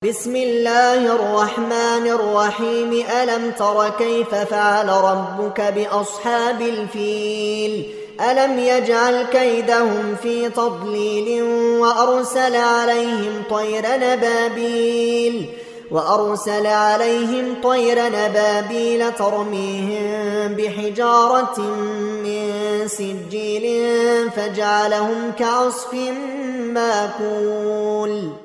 بسم الله الرحمن الرحيم ألم تر كيف فعل ربك بأصحاب الفيل ألم يجعل كيدهم في تضليل وأرسل عليهم طير نبابيل ترميهم بحجارة من سجيل فجعلهم كعصف ماكول